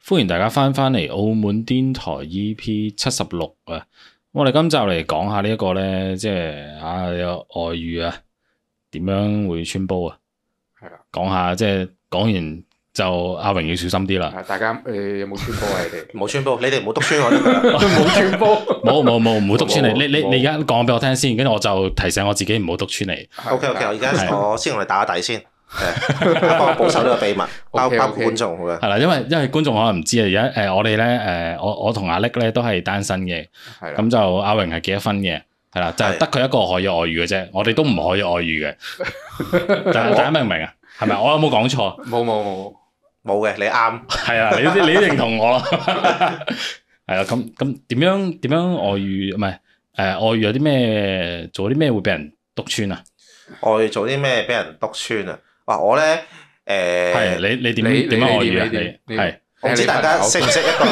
歡迎大家翻嚟澳門癲台 EP 76啊！我哋今集嚟講下呢一個咧，即係有外遇啊，點樣會穿煲啊？係啦，講下即係講完就阿榮要小心啲啦。 大家有冇穿煲啊？你哋冇穿煲，你哋唔好篤穿我得㗎啦。 冇穿煲， 冇唔好篤穿你。你而家講俾我聽先，跟住我就提醒我自己唔好篤穿你。 OK，我而家我先同你打個底先。幫我保守呢個秘密，包括觀眾嘅。 係啦，因為觀眾可能唔知啊，而家我哋咧我同阿力咧都係單身嘅，咁就阿榮係結咗婚嘅，係啦，就係得佢一個可以外遇嘅啫，我哋都唔可以外遇嘅。大家明唔明啊？係咪？我有冇講錯？ 冇嘅，你啱。 係啊，你認同我啦。係啊，咁點樣外遇？唔係外遇有啲咩？做啲咩會俾人篤穿啊？ 外遇做啲咩俾人篤穿啊？哇！我咧係你點樣外遇啊？你係我唔知大家識唔識一個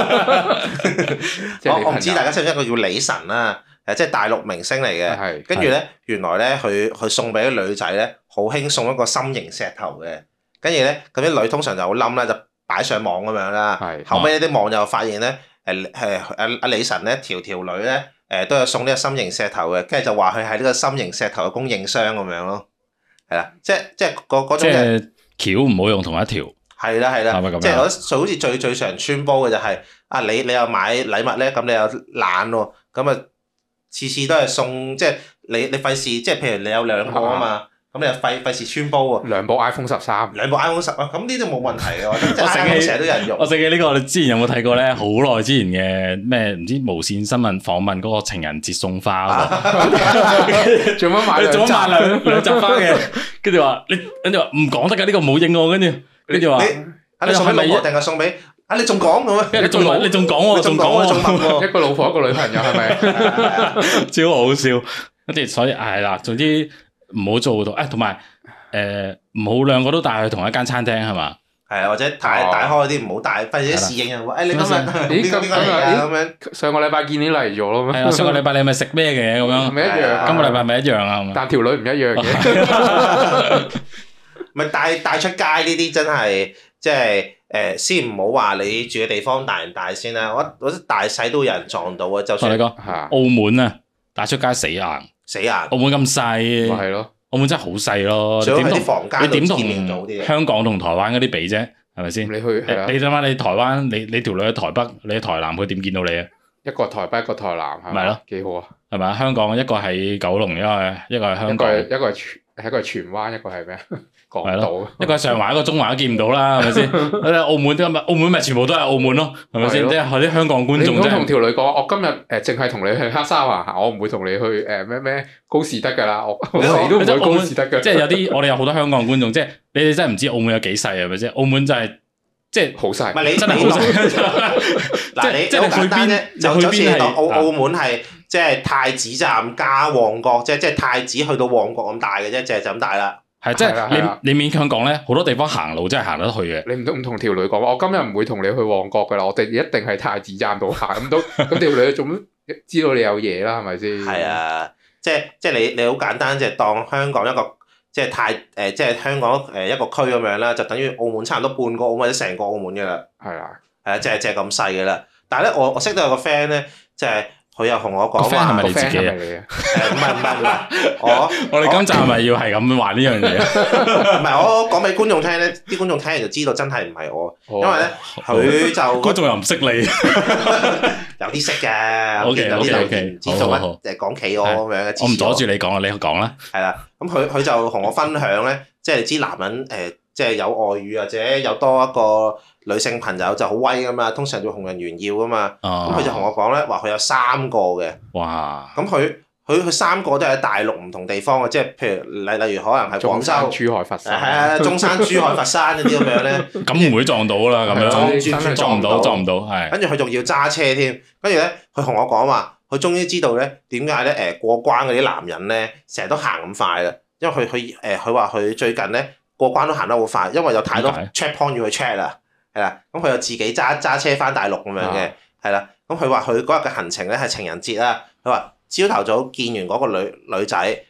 我唔知大家識唔識一個叫李晨啦，即係大陸明星嚟嘅。跟住咧，原來咧佢送俾啲女仔咧，好興送一個心形石頭嘅。跟住咧，咁啲女通常就好冧啦，就擺上網咁樣啦。後尾啲網友發現咧，阿李晨咧條女咧都有送呢個心形石頭嘅，跟住就話佢係呢個心形石頭嘅供應商咁樣咯。係啦，即係嗰種嘅橋唔好用同一條。係啦，即係我好似最常穿煲嘅就係你又買禮物咧，咁你又懶喎，咁啊次次都係送，即係你費事，即係譬如你有兩個啊嘛，咁你又費事穿煲喎。 兩部 iPhone 13， 兩部 iPhone 10啊，咁呢啲冇問題嘅，即係 iPhone 成日都有人用。 我醒起呢個，你之前有冇睇過咧？好耐之前嘅咩唔知無線新聞訪問嗰個情人節送花喎， 做乜買兩紮花嘅？跟住話跟住話唔講得㗎，呢個冇應我，跟住話你送俾老婆定係送俾你仲講咁啊？ 你仲講喎，仲講一個老婆一個女朋友係咪？ 超好笑，跟住所以係啦，總之唔好做到同埋唔好兩個都帶去同一間餐廳係嘛？ 係啊，或者帶開啲唔好帶，費事啲侍應人話你今日邊個嚟啊？咁樣上個禮拜見你嚟咗咯咩？ 係啊，上個禮拜你係咪食咩嘅咁樣？ 咪一樣， 今個禮拜咪一樣啊？ 但條女唔一樣嘅。 咪帶出街呢啲真係即係先唔好話你住嘅地方大唔大先啦，我覺得大細都有人撞到啊！就算你講澳門啊，帶出街死硬，澳門咁細， 咪係咯， 澳門真係好細咯。 最好喺啲房間度見面到啲。 香港同台灣嗰啲比啫，係咪先？ 你去你諗下，你台灣你條女喺台北，你喺台南，佢點見到你啊？ 一個台北，一個台南，係咪咯？幾好啊！ 係咪啊？香港一個喺九龍，一個係香港， 一個係荃灣，一個係咩啊？港島， 一個係上環，一個中環都見唔到啦，係咪先？澳門咪全部都係澳門咯，係咪先？即係啲香港觀眾啫。你唔好同條女講，我今日淨係同你去黑沙環行，我唔會同你去咩高士德㗎啦，我死都唔會高士德㗎。 即係有啲我哋有好多香港觀眾，即係你哋真係唔知澳門有幾細係咪先？澳門就係即係好細， 唔係你真係好細。 嗱你好簡單啫，就好似澳門係即係太子站加旺角，即係太子去到旺角咁大嘅啫，就咁大啦。 係即係你勉強講咧，好多地方行路真係行得去嘅。 你唔同條女講，我今日唔會同你去旺角噶啦，我哋一定係太子站度行咁都咁條女做乜知道你有嘢啦？係咪先？ 係啊，即係你好簡單，即係當香港一個即係香港一個區咁樣啦，就等於澳門差唔多半個澳門或者成個澳門嘅啦。 係啊， 係啊，即係咁細嘅啦。但係咧，我識到有個 friend 咧，即係。佢又同我講話， 係咪你自己啊？ 唔係， 我哋今集係咪要係咁話呢樣嘢？ 唔係，我講俾觀眾聽咧，啲觀眾聽完就知道真係唔係我，因為咧佢就觀眾又唔識你， 有啲識嘅，有啲唔知做乜講企鵝咁樣嘅。 我唔阻住你講啊，你講啦。 係啦，咁佢就同我分享咧，即係你知男人即係有外遇或者有多一個女性朋友就好威噶嘛，通常做紅人炫耀噶嘛。咁佢就同我講咧，話佢有3個嘅。 哇！ 咁佢3個都係喺大陸唔同地方嘅，即係譬如例如可能係廣州、 珠海、佛山。 係啊，中山、珠海、佛山嗰啲咁樣咧。 咁唔會撞到啦，咁樣撞唔到，係。 跟住佢仲要揸車添，跟住咧佢同我講話，佢終於知道咧點解咧過關嗰啲男人咧成日都行咁快啦，因為佢話佢最近咧。過關都行得好快，因為有太多 check point 要去 check 啦，係啦，咁佢又自己揸車翻大陸咁樣嘅，係啦，咁佢話佢嗰日嘅行程咧係情人節啦，佢話朝頭早見完嗰個女仔，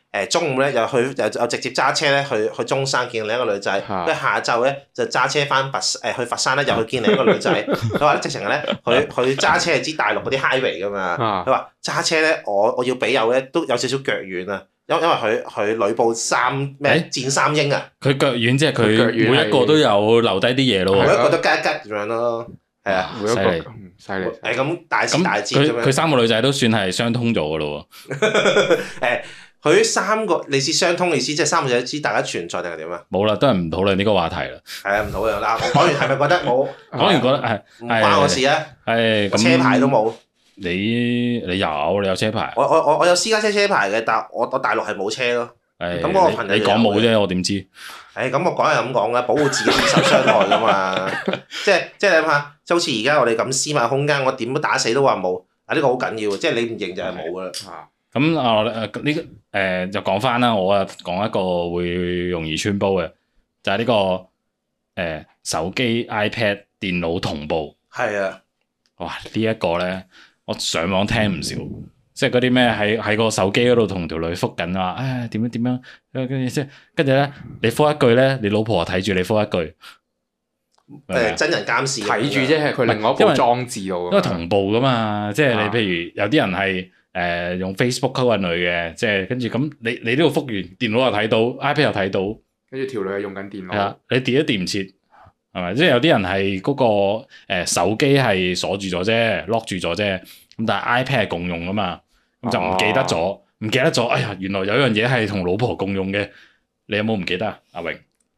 中午咧又直接揸車咧去中山見另一個女仔，跟住下晝咧就揸車翻去佛山咧又去見另一個女仔。佢話咧直情咧佢揸車係知大陸嗰啲 highway 噶嘛。佢話揸車咧我要俾油咧都有少少腳軟啊，因為佢呂布戰三英啊。佢腳軟即係佢每一個都有留低啲嘢咯。 每一個都吉咁樣咯。係啊， 犀利犀利。 咁大時大節咁樣。 佢三個女仔都算係相通咗噶咯喎。佢三個你知相通意思，即係三個仔知大家存在定係點啊？ 冇啦，都係唔討論呢個話題啦。 係啊，唔討論啦。我講完係咪覺得冇？ 講完覺得唔關我事啊。 係咁。 車牌都冇。 你有車牌？ 我有私家車牌嘅，但我大陸係冇車咯。咁嗰個朋友你講冇啫，我點知？ 咁我講係咁講嘅，保護自己免受傷害噶嘛。即係你諗下，就好似而家我哋咁私密空間，我點都打死都話冇。呢個好緊要，即係你唔認就係冇噶啦。 咁就講翻啦，我講一個會容易穿煲嘅，就係呢個手機、iPad、電腦同步。係啊。哇！呢一個咧，我上網聽唔少。即係嗰啲咩喺個手機嗰度同條女覆緊話，點樣，跟住咧你覆一句咧，你老婆睇住你覆一句， 真人監視睇住啫，係佢另外一部裝置度， 因為同步噶嘛，即係你譬如有啲人係用 Facebook 溝緊女嘅，即係跟住咁你呢度覆完，電腦又睇到 ，iPad 又睇到， 跟住條女係用緊電腦， 係啊，你跌都跌唔切，係咪？即係有啲人係嗰個手機係鎖住咗啫，lock 住咗啫，咁但係 iPad 係共用噶嘛。咁就唔記得咗，哎呀，原來有一樣嘢係同老婆共用嘅，你有冇唔記得啊？阿榮，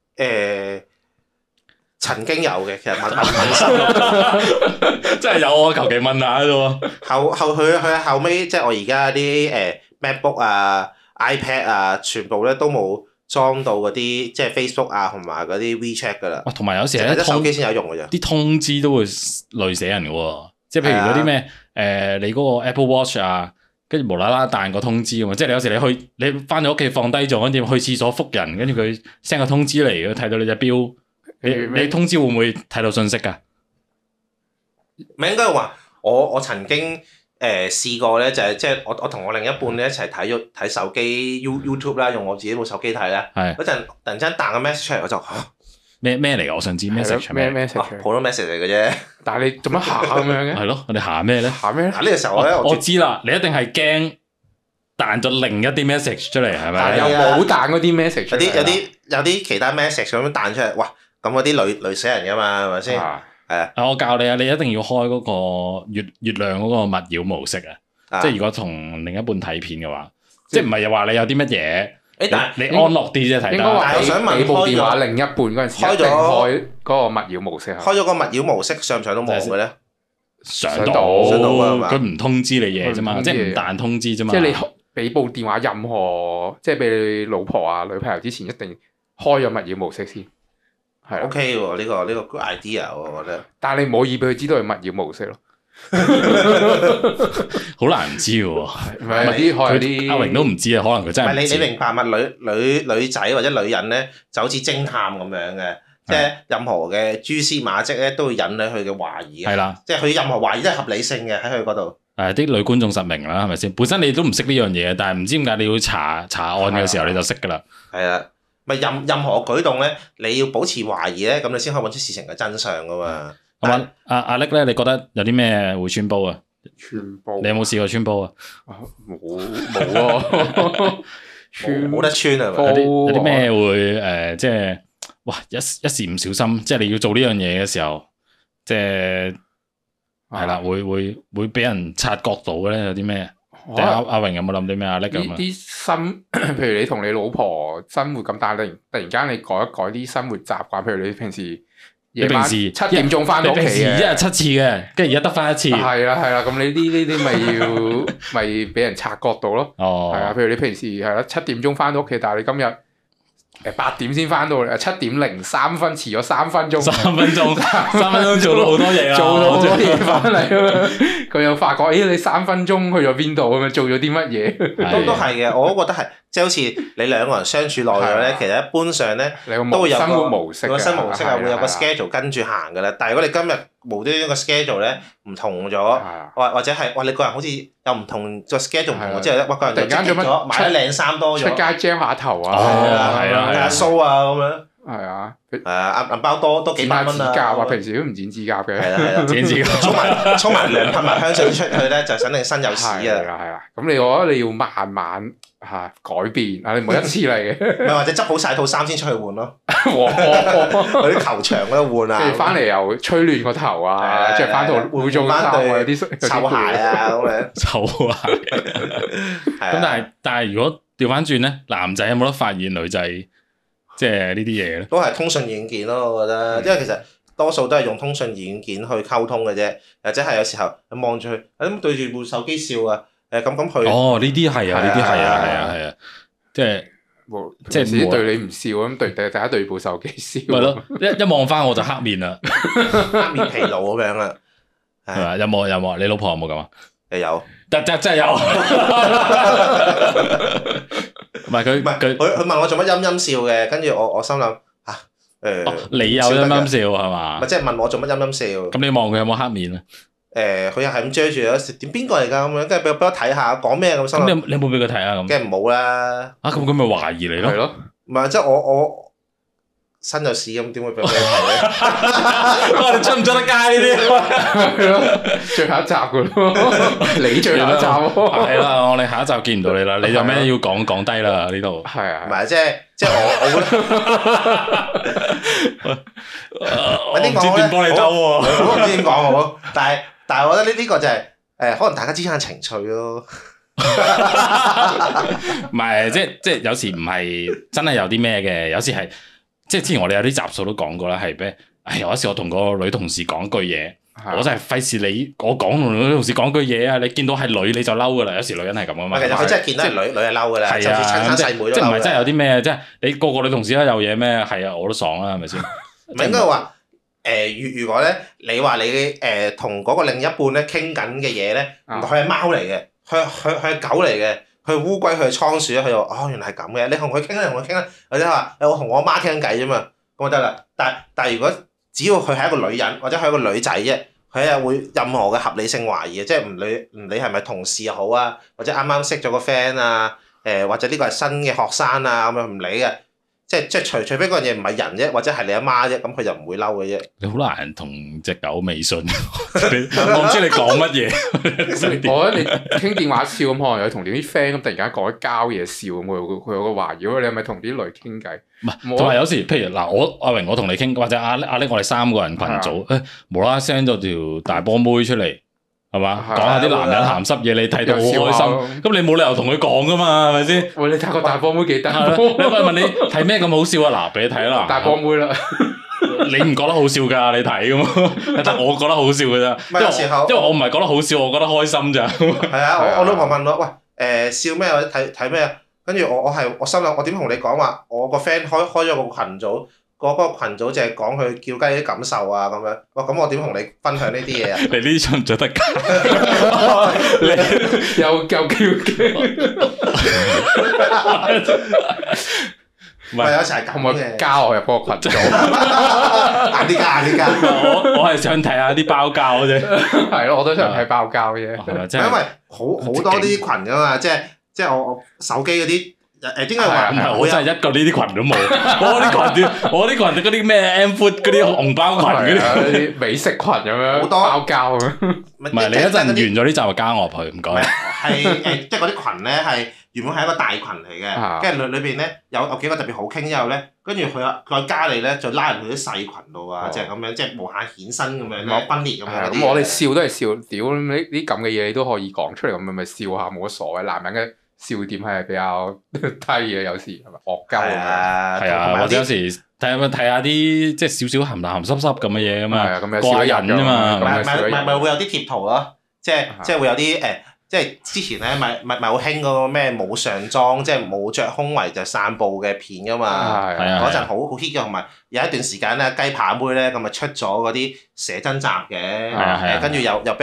曾經有嘅，其實問心， 真係有我求其問下啫喎。 佢後尾即係我而家啲MacBook 啊、iPad 啊，全部咧都冇裝到嗰啲即係 Facebook 啊同埋嗰啲 WeChat 噶啦。 同埋有時咧， 手機先有用嘅啫。啲通知都會累死人嘅喎，即係譬如嗰啲咩你嗰個 Apple Watch 啊。跟住無啦啦彈個通知咁嘛，即係你有時你翻咗屋企放低咗，跟住去廁所覆人，跟住佢 send 個通知嚟，睇到你隻錶，你通知會唔會睇到信息㗎？ 唔係應該話我曾經試過咧，就係即係我同我另一半咧一齊睇手機 YouTube 啦，用我自己部手機睇啦。係嗰陣突然之間彈個 message 出嚟，我就咩嚟㗎？我想知 message 咩普通 message 嚟嘅啫。 但係你做乜下咁樣嘅？ 係咯，我哋下咩咧？ 下咩？呢個時候咧， 我知啦，你一定係驚彈咗另一啲 message 出嚟，係咪？ 但係又冇彈嗰啲 message 出嚟。 有啲其他 message 咁樣彈出嚟，哇！咁嗰啲累死人㗎嘛，係咪先？係啊。 我教你啊，你一定要開嗰個月亮嗰個勿擾模式啊！即係如果同另一半睇片嘅話，即係唔係又話你有啲乜嘢？你安樂啲啫睇得。 應該話我想問部電話另一半嗰陣時，一定開嗰個勿擾模式。 開咗個勿擾模式，上唔上到網嘅咧？ 上到，佢唔通知你嘢啫嘛，即係唔彈通知啫嘛。 即係你俾部電話任何，即係俾你老婆啊、女朋友之前，一定開咗勿擾模式先。係 OK 喎，呢個 good idea 喎，我覺得。 但係你唔可以俾佢知道係勿擾模式咯。 好難唔知喎， 唔係啲阿榮都唔知啊，可能佢真係唔知。 你明白嘛？女仔或者女人咧，就好似偵探咁樣嘅，即係任何嘅蛛絲馬跡咧，都會引起佢嘅懷疑。係啦，即係佢任何懷疑都係合理性嘅喺佢嗰度。 啲女觀眾實明啦，係咪先？本身你都唔識呢樣嘢，但係唔知點解你要查案嘅時候你就識㗎啦。係啊， 咪任何舉動咧，你要保持懷疑咧，咁你先可以揾出事情嘅真相㗎嘛。 咁阿力咧，你覺得有啲咩會穿煲啊？ 穿煲？ 你有冇試過穿煲啊？ 冇啊！ 冇得穿啊！ 有啲咩會即係哇一時唔小心，即係你要做呢樣嘢嘅時候，即係係啦，會俾人察覺到嘅咧？有啲咩？阿榮有冇諗啲咩？阿力咁啊？ 啲譬如你同你老婆生活咁，但係突然間你改一改啲生活習慣，譬如你平時。夜晚7點鐘翻到屋企嘅， 一日7次嘅，跟住而家得翻1次。係啦，咁你呢啲咪俾人察覺到咯。係啊，譬如你平時係啦7點鐘翻到屋企，但係你今日8點先翻到嚟，7點03分遲咗3分鐘。3分鐘做到好多嘢啦，做到好多嘢翻嚟啊！佢又發覺，你3分鐘去咗邊度咁樣，做咗啲乜嘢？ 都係嘅，我都覺得係， 即係好似你兩個人相處耐咗咧，其實一般上咧都會有個生活模式啊，會有個 schedule 跟住行㗎啦。但係如果你今日無端端個 schedule 咧唔同咗，或者係你個人好似又唔同個 schedule 唔同咗之後咧，個人突然間做乜買咗靚衫多咗， 出街 jam 下頭啊， 睇下 show 啊咁樣。 係啊， 銀包多幾百蚊啊！ 平時都唔剪指甲嘅， 係啦，剪指甲，沖埋涼噴埋香水出去咧，就肯定身有屎啊！ 係啦，咁你我覺得你要慢慢改變啊！你唔好一次嚟嘅， 咪或者執好晒套衫先出去換咯。嗰啲球場嗰度換啊， 跟住翻嚟又吹亂個頭啊，着翻套會做翻對啲臭鞋啊咁樣。 臭鞋。咁但係如果調翻轉咧，男仔有冇得發現女仔？即係呢啲嘢咧， 都係通訊軟件咯，我覺得，因為其實多數都係用通訊軟件去溝通嘅啫，或者係有時候你望住佢，咁對住部手機笑啊，咁佢。哦， 呢啲係啊，呢啲係啊，即係自己對你唔笑咁，大家對部手機笑。 咪咯，一望翻我就黑面啦， 黑面疲勞咁樣啦。 係嘛？有冇？你老婆有冇咁啊？ 有， 真係有。唔係佢問我做乜陰陰笑嘅，跟住我心諗你有陰陰笑係嘛？ 咪即係問我做乜陰陰笑？ 咁你望佢有冇黑面啊？ 佢又係咁遮住咗，點邊個嚟㗎咁樣？跟住俾我睇下，講咩咁心諗。 咁你有冇俾佢睇啊？咁梗係冇啦。 咁佢咪懷疑你咯？ 係咯。 唔係即係我身有屎咁，點會俾我睇咧？ 你出唔出得街呢啲？ 係咯，最後一集㗎咯，你最後一集喎。 係啦，我哋下一集見唔到你啦。你有咩要講低啦呢度？ 係啊。 唔係即係我唔知點幫你兜喎，我唔知點講好。但係我覺得呢個就係可能大家之間嘅情趣咯。 唔係即係有時唔係真係有啲咩嘅，有時係。即係之前我哋有啲集數都講過啦，係咩？有一時我同個女同事講句嘢，我真係費事我講同女同事講句嘢啊！你見到係女你就嬲噶啦，有時女人係咁噶嘛。 其實佢真係見到係女係嬲噶啦，就算親生細妹都嬲。 即係唔係真係有啲咩？即係你個女同事都有嘢咩？係啊，我都爽啦，係咪先？ 唔係應該話如果咧，你話你同嗰個另一半咧傾緊嘅嘢咧，佢係貓嚟嘅，佢係狗嚟嘅。佢烏龜，佢係倉鼠咧，佢就原來係咁嘅。你同佢傾啦，同佢傾啦，或者話我同我媽傾緊偈啫嘛，咁就得啦。但係如果只要佢係一個女人或者係一個女仔啫，佢係會任何嘅合理性懷疑嘅，即係唔理係咪同事又好啊，或者啱啱識咗個 friend 啊，或者呢個係新嘅學生啊咁樣唔理嘅。即係除非嗰樣嘢唔係人啫，或者係你阿媽啫，咁佢就唔會嬲嘅啫。你好難同隻狗微信，我唔知你講乜嘢。 我覺得你傾電話笑咁，可能有同啲 friend 咁突然間講啲膠嘢笑咁，佢有個懷疑，你係咪同啲女傾偈？ 唔係，同埋有時譬如嗱，阿榮我同你傾，或者阿叻我哋3個人群組，無啦啦 send 咗條大波妹出嚟。係嘛？講下啲男人鹹濕嘢，你睇到好開心。咁你冇理由同佢講噶嘛？係咪先？ 喂，你睇個大波妹幾得？ 你問你睇咩咁好笑啊？嗱，俾你睇啦。 大波妹啦， 你唔覺得好笑㗎？你睇㗎嘛？但我覺得好笑㗎咋。因為我唔係覺得好笑，我覺得開心咋。 係啊，我老婆問我喂笑咩或者睇咩啊？跟住我心諗我點同你講話？我個 friend 開咗個群組。嗰個群組就係講佢叫雞啲感受啊咁樣，咁我點同你分享呢啲嘢啊？ 你呢啲出唔出得街？ 你又叫雞？ 唔係有時係咁嘅， 加我入嗰個群組， 硬啲加。 我係想睇下啲包膠啫。 係咯，我都想睇包膠啫。 因為好多啲群㗎嘛，即係我手機嗰啲。點解話唔係？ 我真係一個呢啲群都冇。我啲群嗰啲咩 M Food 嗰啲紅包群嗰啲美食群咁樣，好多包膠咁樣。 唔係你一陣完咗呢集就加我入去，唔該。 係即係嗰啲群咧係原本係一個大群嚟嘅，跟住裏邊咧有幾個特別好傾之後咧，跟住佢再加你咧，就拉入去啲細群度啊，即係咁樣，即係無限衍生咁樣，分裂咁樣。 咁我哋笑都係笑，屌呢啲咁嘅嘢你都可以講出嚟，咁咪笑下冇乜所謂。男人嘅笑點係比較低嘅，有時係咪惡鳩啊？ 係啊，或者有時睇下啲即係少少鹹鹹濕濕咁嘅嘢咁啊，過癮啫嘛。 咪會有啲貼圖咯，即係會有啲即係之前咧咪好興嗰個咩冇上裝，即係冇着胸圍就散步嘅片噶嘛。嗰陣好 hit 嘅，同埋有一段時間咧雞扒妹咧咁咪出咗嗰啲寫真集嘅，跟住又俾人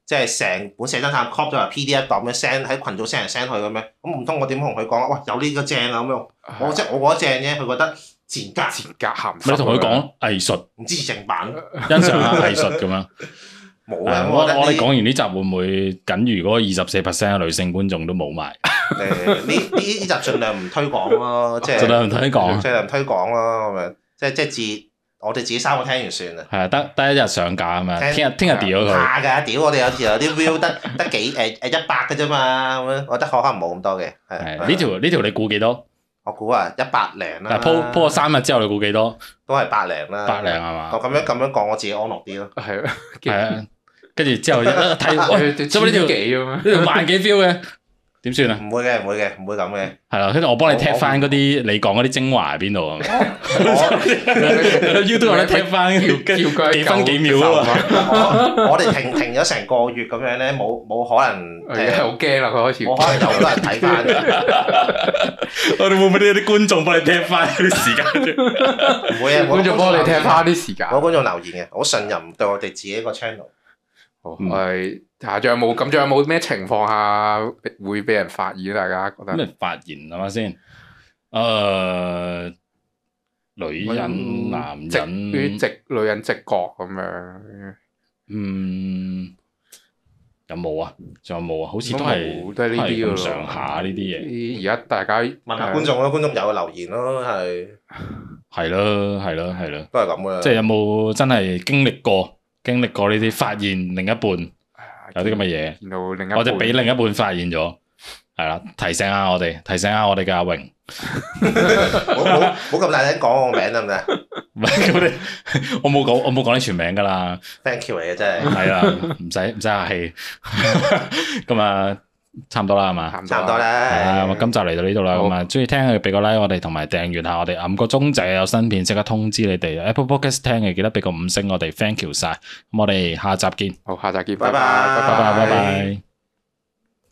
即係成本寫真探 copy 咗嚟 PDF 檔咁樣 send 喺群組 send 嚟 send 去咁樣，咁唔通我點同佢講？哇，有呢個正啊咁樣，我覺得正啫，佢覺得賤格鹹濕。 你同佢講藝術， 唔支持正版， 欣賞下藝術咁樣。 冇啊！ 我哋講完呢集會唔會僅餘嗰24%嘅女性觀眾都冇埋？ 呢集盡量唔推廣咯，即係盡量唔推廣， 盡量唔推廣咯咁樣，即我哋自己3個聽完算啦。 係啊，得一日上架啊嘛，聽日掉咗佢。 怕㗎，屌我哋有時有啲 view 得幾100嘅啫嘛，咁樣我覺得可能冇咁多嘅。 係呢條你估幾多？ 我估啊100零啦。 鋪咗3日之後你估幾多？ 都係100零啦。100 零係嘛？ 我咁樣講，我自己安樂啲咯。 係啊，跟住之後一睇，做乜呢條幾咁樣？ 呢條萬幾 view 嘅？點算啊？ 唔會嘅，唔會咁嘅。 係啦，跟住我幫你踢翻嗰啲你講嗰啲精華喺邊度啊？YouTube 咧踢翻幾分幾秒啊嘛！ 我哋停咗成個月咁樣咧，冇可能好驚啦！佢開始冇可能有好多人睇翻。 我哋會唔會啲觀眾幫你踢翻啲時間？ 唔會啊！ 觀眾幫你踢翻啲時間。 冇觀眾留言嘅，好信任對我哋自己個 channel。 係，仲有冇咩情況下會俾人發現？大家覺得咩發現係嘛先？女人、男人， 女人直覺咁樣。 有冇啊？仲有冇啊？好似都係呢啲咁上下呢啲嘢。 而家大家問下觀眾咯，觀眾有留言咯， 係咯， 都係咁嘅。 即係有冇真係經歷過呢啲發現另一半有啲咁嘅嘢，或者俾另一半發現咗，係啦，提醒下我哋嘅阿榮， 冇咁大聲講我個名得唔得？ 唔係我冇講你全名噶啦 ，thank you 嚟嘅真係， 係啦，唔使客氣，咁啊。差唔多啦，係嘛？ 差唔多啦。 係啊，咁今集嚟到呢度啦。咁啊，中意聽嘅俾個 like 我哋，同埋訂閱下我哋，按個鐘仔有新片即刻通知你哋。Apple Podcast 聽嘅記得俾個5星我哋 ，thank you 晒。咁我哋下集見。 好，下集見， 拜拜。